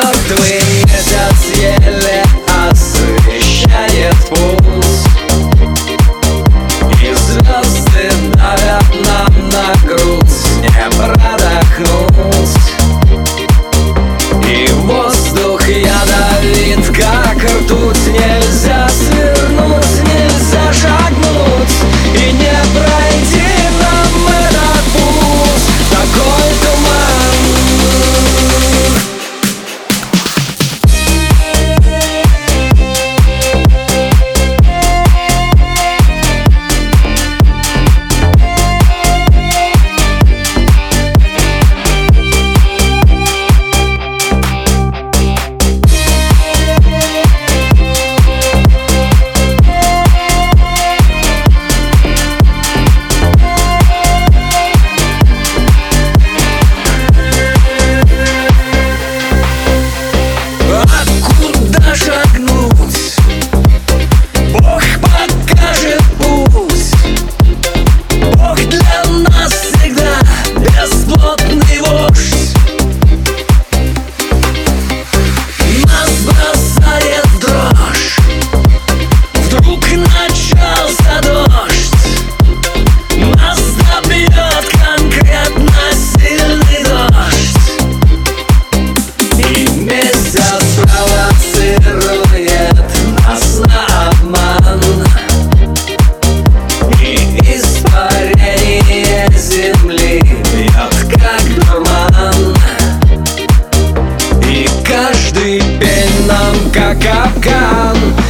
Мертвый месяц еле освещает путь, и звезды давят нам на грудь, не продохнуть. И воздух ядовит, как ртуть, нельзя свернуть, нельзя шагнуть, и не пройти нам этот путь, такой туман. Шагнуть, Бог покажет путь. Бог для нас всегда бесплотный вождь. Нас бросает в дрожь, вдруг начался дождь. Нас добьет конкретно сильный дождь, и месяц провоцирует нас на обман, и испарение земли бьет как дурман, и каждый пень нам как капкан.